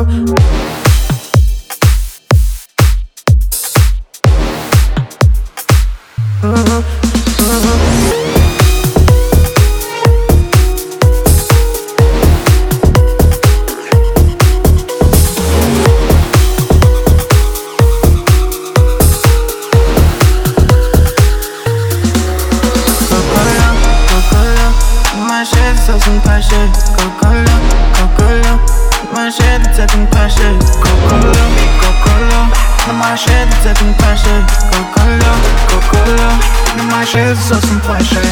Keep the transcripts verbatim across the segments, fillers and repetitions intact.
Saucing passion, Coca-Cola, Coca-Cola. My shit, it's acting passion, Coca-Cola, Coca-Cola. My shit, it's acting passion, Coca-Cola, Coca-Cola. My shit, saucing passion.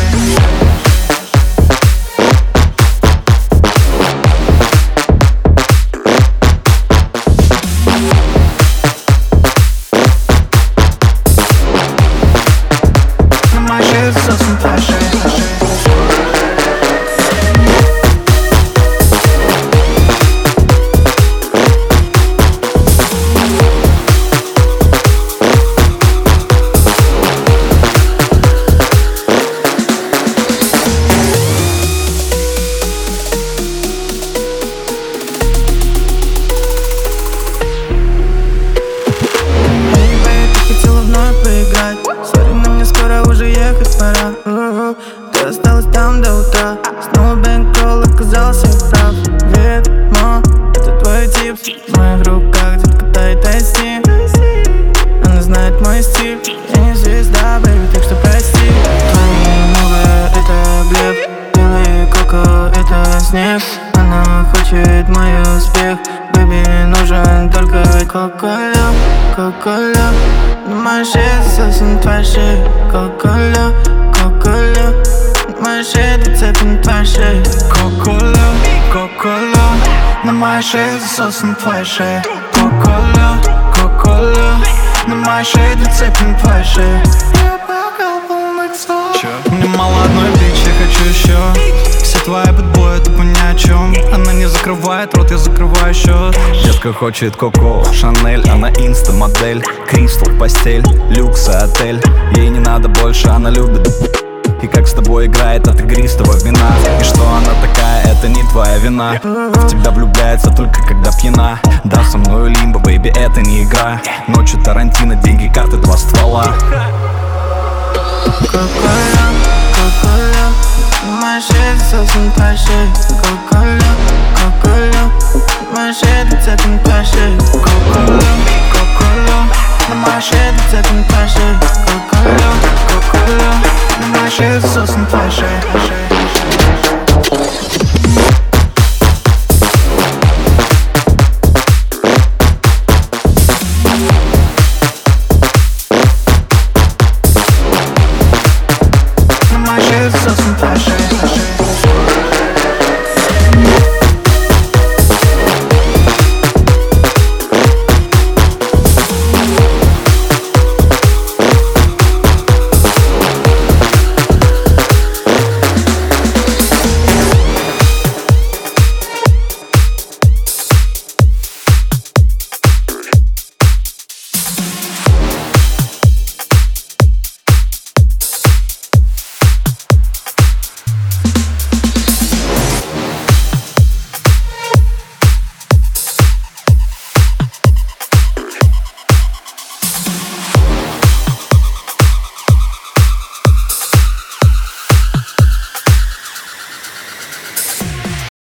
My shit, saucing passion. Сори, но мне скоро уже ехать пора. uh-huh. Ты осталась там до утра. Снова бэнкролл, оказался прав. Видимо, это твой тип. В моих руках детка тает айси. Она знает мой стиль. Я не звезда, бэйби, так что прости. Твои мувы — это блеф. Белый коко — это снег. Она хочет мой успех. Бэйби, нужен только Кока-Кола, Кока-Кола. My shit, saucing твой shit, Coca-Cola, Coca-Cola. My shit, it's acting твой shit, Coca-Cola, Coca-Cola. My shit, saucing твой shit, Coca-Cola, Coca-Cola. My shit, it's acting твой shit. Мне мало одной бичи, я хочу еще. Все твои бэтбои тупо ни о чем. Она не закрывает рот, я закрываю счет. Детка хочет Коко, Шанель, она инста-модель. Кристал, постель, люкс и отель. Ей не надо больше, она любит. И как с тобой играет от игристого вина. И что она такая, это не твоя вина. В тебя влюбляется только когда пьяна. Да, со мною лимбо, бэйби, это не игра. Ночью Тарантино, деньги, карты, два ствола. Coca-Cola, Coca-Cola. My shit, saucing твой shit, Coca-Cola, Coca-Cola. My shit, it's acting твой shit, Coca-Cola, Coca-Cola. My shit, it's acting твой shit, Coca-Cola, Coca-Cola. My shit, saucing твой shit.